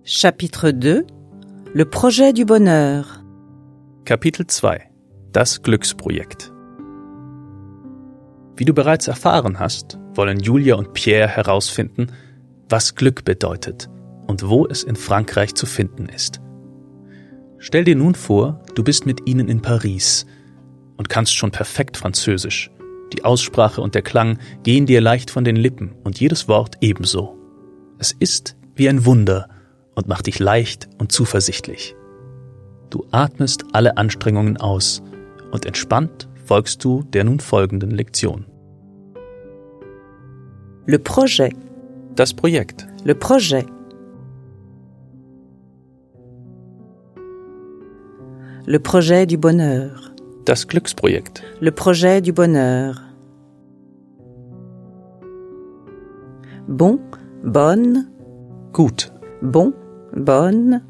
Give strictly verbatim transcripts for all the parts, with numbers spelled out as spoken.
Chapitre deux. Le projet du bonheur. Kapitel zwei. Das Glücksprojekt. Wie du bereits erfahren hast, wollen Julia und Pierre herausfinden, was Glück bedeutet und wo es in Frankreich zu finden ist. Stell dir nun vor, du bist mit ihnen in Paris und kannst schon perfekt Französisch. Die Aussprache und der Klang gehen dir leicht von den Lippen und jedes Wort ebenso. Es ist wie ein Wunder und macht dich leicht und zuversichtlich. Du atmest alle Anstrengungen aus und entspannt folgst du der nun folgenden Lektion. Le projet. Das Projekt. Le projet. Le projet du bonheur. Das Glücksprojekt. Le projet du bonheur. Bon, bonne. Gut. Bon, bonne.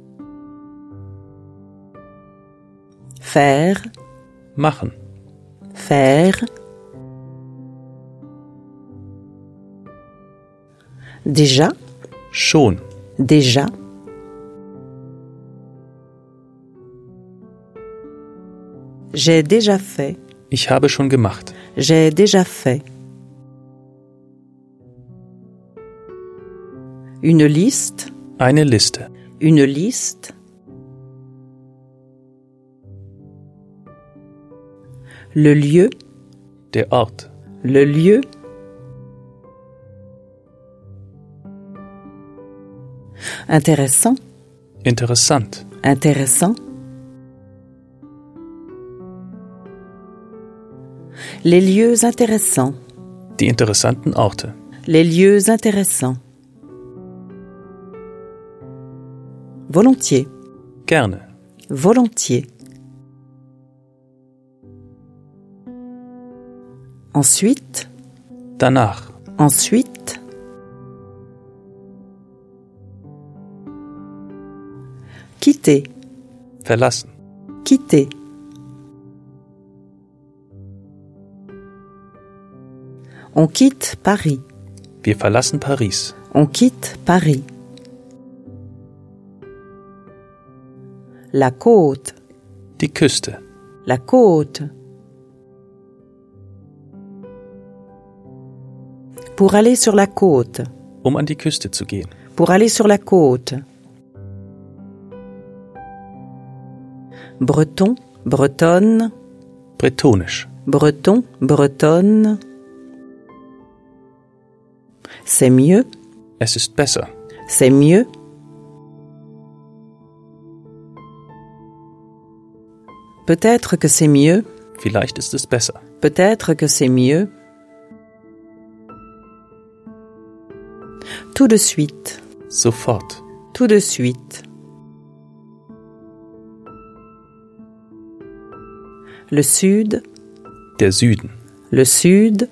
Faire. Machen. Faire. Déjà. Schon. Déjà. J'ai déjà fait. Ich habe schon gemacht. J'ai déjà fait. Une liste. Eine Liste. Une liste. Le lieu. Der Ort. Le lieu. Intéressant. Interessant. Intéressant. Les lieux intéressants. Die interessanten Orte. Les lieux intéressants. Volontiers. Gerne. Volontiers. Ensuite. Danach. Ensuite. Quitter. Verlassen. Quitter. On quitte Paris. Wir verlassen Paris. On quitte Paris. La côte. Die Küste. La côte. Pour aller sur la côte. Um an die Küste zu gehen. Pour aller sur la côte. Breton, bretonne. Bretonisch. Breton, bretonne. C'est mieux. Es ist besser. C'est mieux. Peut-être que c'est mieux. Vielleicht ist es besser. Peut-être que c'est mieux. Tout de suite. Sofort. Tout de suite. Le sud. Der Süden. Le sud.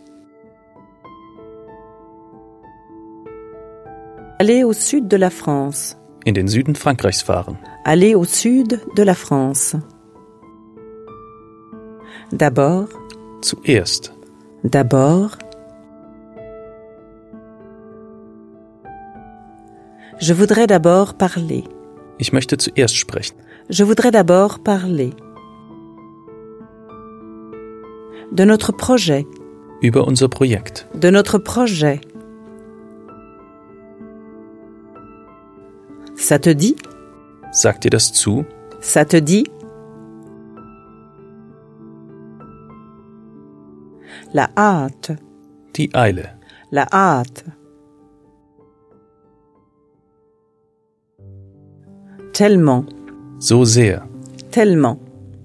Aller au sud de la France. In den Süden Frankreichs fahren. Aller au sud de la France. D'abord. Zuerst. D'abord. Je voudrais d'abord parler. Ich möchte zuerst sprechen. Je voudrais d'abord parler. De notre projet. Über unser Projekt. De notre projet. Ça te dit? Sagt dir das zu? Ça te dit? La hâte. Die Eile. La hâte. Tellement. So sehr. Tellement.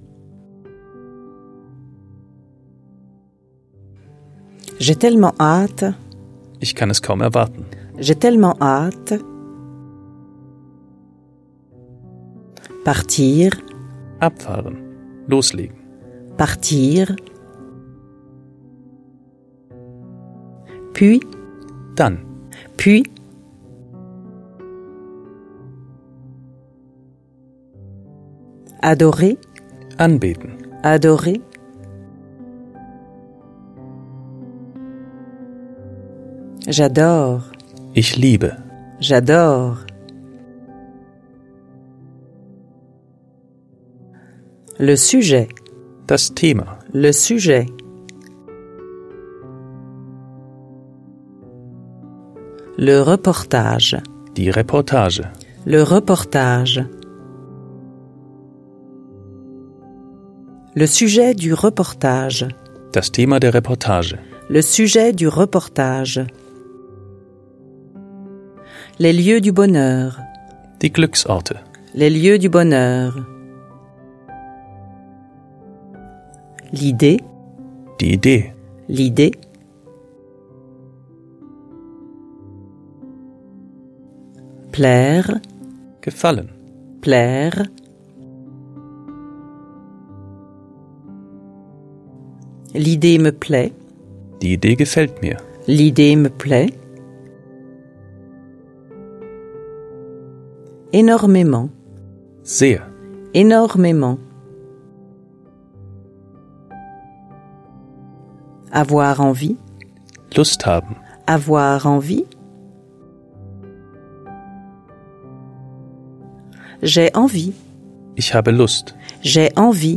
J'ai tellement hâte. Ich kann es kaum erwarten. J'ai tellement hâte. Partir. Abfahren. Loslegen. Partir. Puis. Dann. Puis. Adorer. Anbeten. Adorer. J'adore. Ich liebe. J'adore. Le sujet. Das Thema. Le sujet. Le reportage. Die Reportage. Le reportage. Le sujet du reportage. Das Thema der Reportage. Le sujet du reportage. Les lieux du bonheur. Die Glücksorte. Les lieux du bonheur. L'idée. Die Idee. L'idée. Plaire. Gefallen. Plaire. L'idée me plaît. Die Idee gefällt mir. L'idée me plaît. Énormément. Sehr. Énormément. Avoir envie. Lust haben. Avoir envie. J'ai envie. Ich habe Lust. J'ai envie.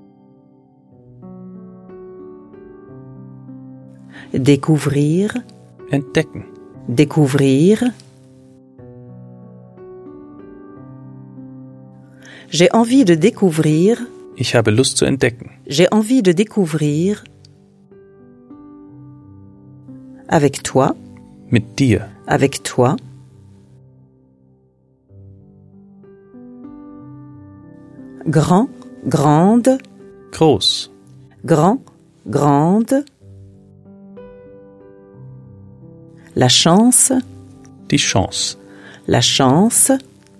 Découvrir. Entdecken. Découvrir. J'ai envie de découvrir. Ich habe Lust zu entdecken. J'ai envie de découvrir. Avec toi. Mit dir. Avec toi. Grand, grande. Groß. Grand, grande. La chance. Die Chance. La chance.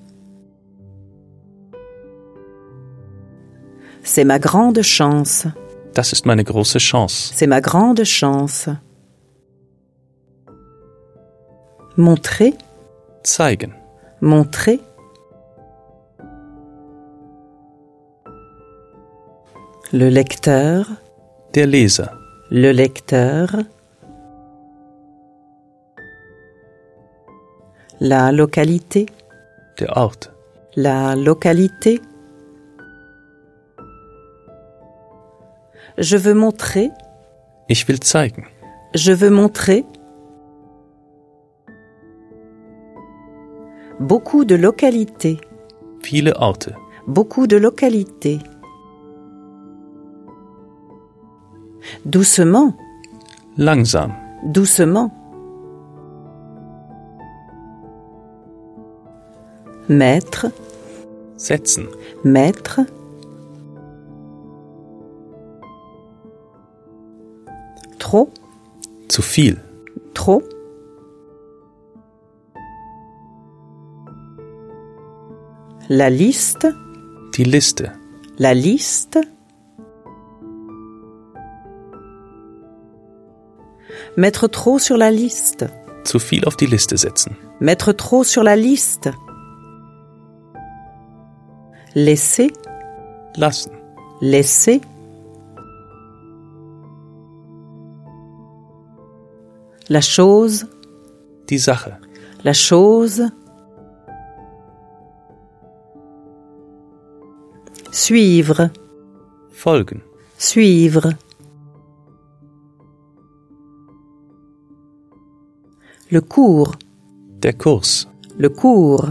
C'est ma grande chance. Das ist meine große Chance. C'est ma grande chance. Montrer. Zeigen. Montrer. Le lecteur. Der Leser. Le lecteur. La localité. Der Ort. La localité. Je veux montrer. Ich will zeigen. Je veux montrer. Beaucoup de localités. Viele Orte. Beaucoup de localités. Doucement. Langsam. Doucement. Mettre. Setzen. Mettre. Trop. Zu viel. Trop. La liste. Die Liste. La liste. Mettre trop sur la liste. Zu viel auf die Liste setzen. Mettre trop sur la liste. Laisser. Lassen. Laisser. La chose. Die Sache. La chose. Suivre. Folgen. Suivre. Le cours. Der Kurs. Le cours.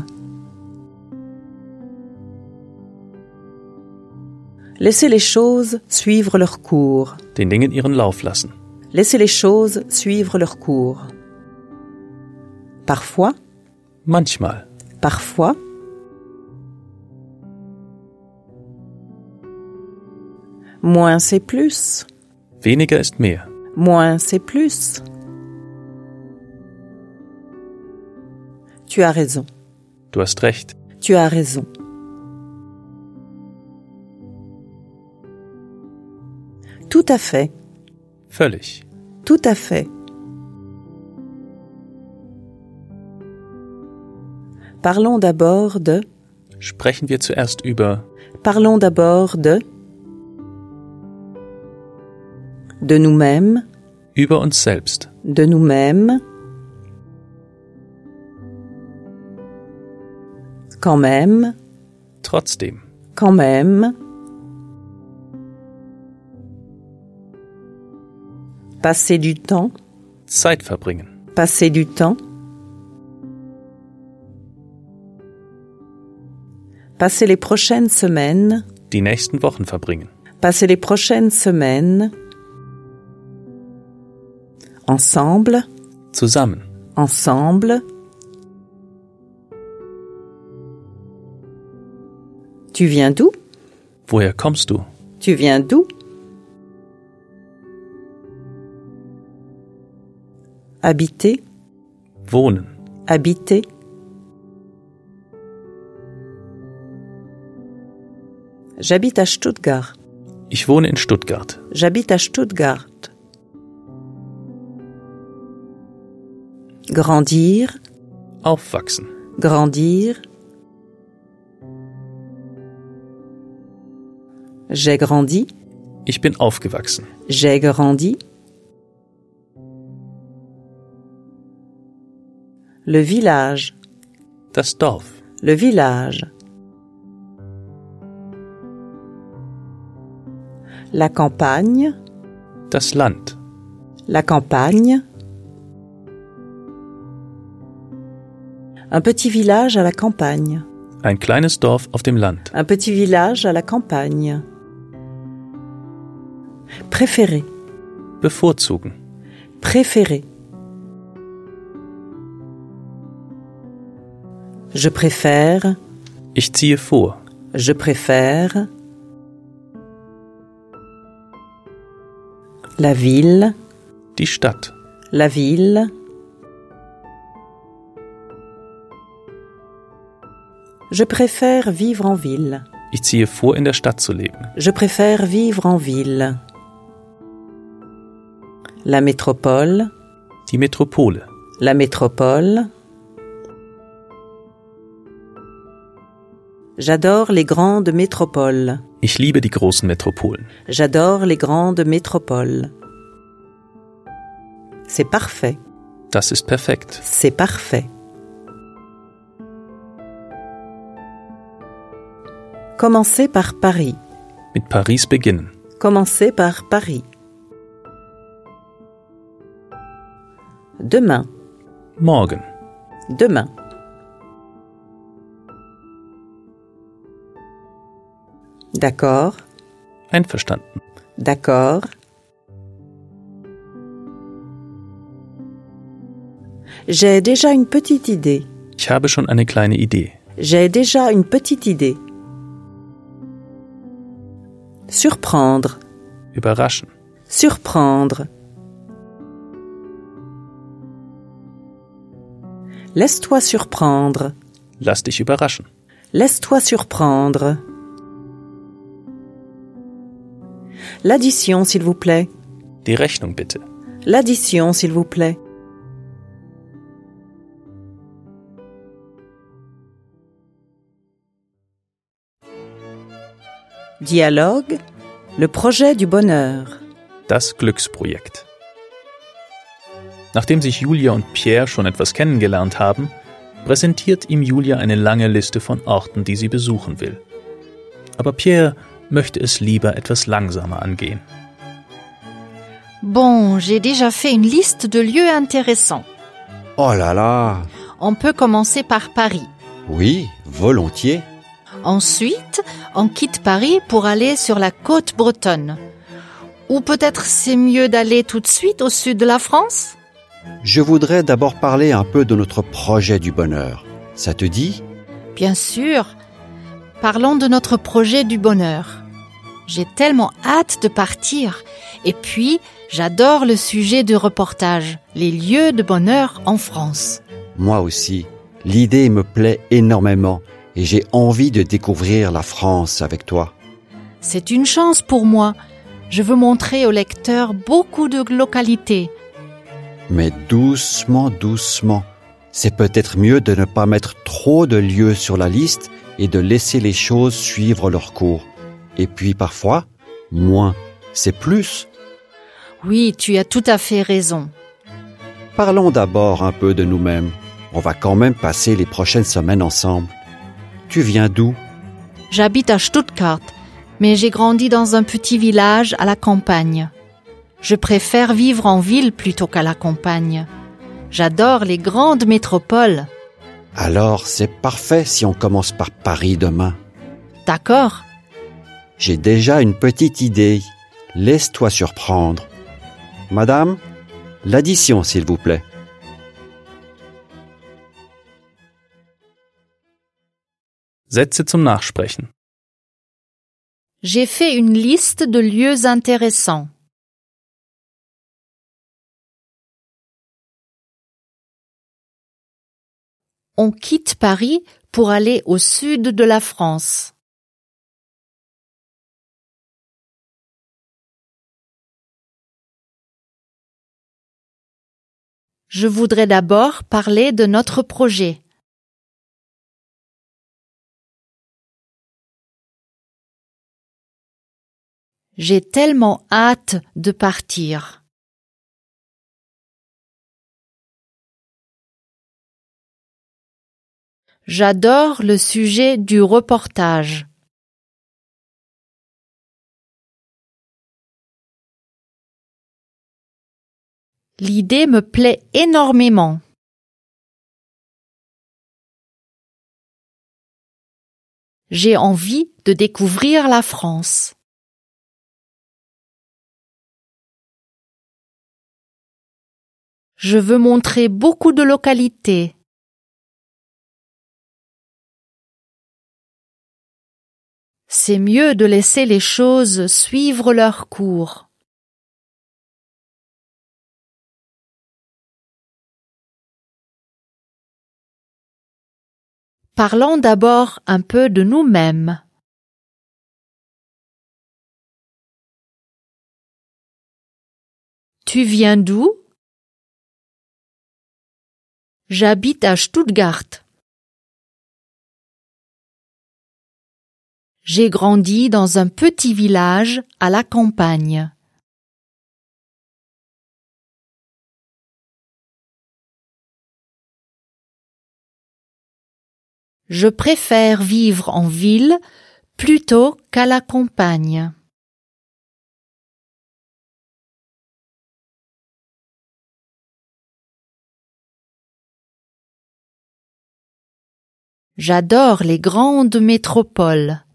Laissez les choses suivre leur cours. Den Dingen ihren Lauf lassen. Laissez les choses suivre leur cours. Parfois. Manchmal. Parfois. Moins c'est plus. Weniger ist mehr. Moins c'est plus. Tu as raison. Du hast recht. Tu as raison. Tout à fait. Völlig. Tout à fait. Parlons d'abord de. Sprechen wir zuerst über. Parlons d'abord de. De nous-mêmes. Über uns selbst. De nous-mêmes. Quand même. Trotzdem. Quand même. Passer du temps. Zeit verbringen. Passer du temps. Passer les prochaines semaines. Die nächsten Wochen verbringen. Passer les prochaines semaines. Ensemble. Zusammen. Ensemble. Tu viens d'où? Woher kommst du? Tu viens d'où? Habiter. Wohnen. Habiter. J'habite à Stuttgart. Ich wohne in Stuttgart. J'habite à Stuttgart. Grandir. Aufwachsen. Grandir. J'ai grandi. Ich bin aufgewachsen. J'ai grandi. Le village. Das Dorf. Le village. La campagne. Das Land. La campagne. Un petit village à la campagne. Ein kleines Dorf auf dem Land. Un petit village à la campagne. Préférer. Bevorzugen. Préférer. Je préfère. Ich ziehe vor. Je préfère. La ville. Die Stadt. La ville. Je préfère vivre en ville. Ich ziehe vor, in der Stadt zu leben. Je préfère vivre en ville. La métropole. Die Metropole. La métropole. J'adore les grandes métropoles. Ich liebe die großen Metropolen. J'adore les grandes métropoles. C'est parfait. Das ist perfekt. C'est parfait. Commencer par Paris. Mit Paris beginnen. Commencer par Paris. Demain. Morgen. Demain. D'accord. Einverstanden. D'accord. J'ai déjà une petite idée. Ich habe schon eine kleine Idee. J'ai déjà une petite idée. Surprendre. Überraschen. Surprendre. Laisse-toi surprendre. Lass dich überraschen. Laisse-toi surprendre. L'addition, s'il vous plaît. Die Rechnung bitte. L'addition, s'il vous plaît. Dialogue. Le projet du bonheur. Das Glücksprojekt. Nachdem sich Julia und Pierre schon etwas kennengelernt haben, präsentiert ihm Julia eine lange Liste von Orten, die sie besuchen will. Aber Pierre möchte es lieber etwas langsamer angehen. Bon, j'ai déjà fait une liste de lieux intéressants. Oh là là! On peut commencer par Paris. Oui, volontiers. Ensuite, on quitte Paris pour aller sur la côte bretonne. Ou peut-être c'est mieux d'aller tout de suite au sud de la France? Je voudrais d'abord parler un peu de notre projet du bonheur. Ça te dit? Bien sûr. Parlons de notre projet du bonheur. J'ai tellement hâte de partir. Et puis, j'adore le sujet du reportage, les lieux de bonheur en France. Moi aussi. L'idée me plaît énormément et j'ai envie de découvrir la France avec toi. C'est une chance pour moi. Je veux montrer au lecteur beaucoup de localités. Mais doucement, doucement. C'est peut-être mieux de ne pas mettre trop de lieux sur la liste et de laisser les choses suivre leur cours. Et puis parfois, moins, c'est plus. Oui, tu as tout à fait raison. Parlons d'abord un peu de nous-mêmes. On va quand même passer les prochaines semaines ensemble. Tu viens d'où? J'habite à Stuttgart, mais j'ai grandi dans un petit village à la campagne. Je préfère vivre en ville plutôt qu'à la campagne. J'adore les grandes métropoles. Alors, c'est parfait si on commence par Paris demain. D'accord. J'ai déjà une petite idée. Laisse-toi surprendre. Madame, l'addition, s'il vous plaît. Sätze zum Nachsprechen. J'ai fait une liste de lieux intéressants. On quitte Paris pour aller au sud de la France. Je voudrais d'abord parler de notre projet. J'ai tellement hâte de partir. J'adore le sujet du reportage. L'idée me plaît énormément. J'ai envie de découvrir la France. Je veux montrer beaucoup de localités. C'est mieux de laisser les choses suivre leur cours. Parlons d'abord un peu de nous-mêmes. Tu viens d'où? J'habite à Stuttgart. J'ai grandi dans un petit village à la campagne. Je préfère vivre en ville plutôt qu'à la campagne. J'adore les grandes métropoles.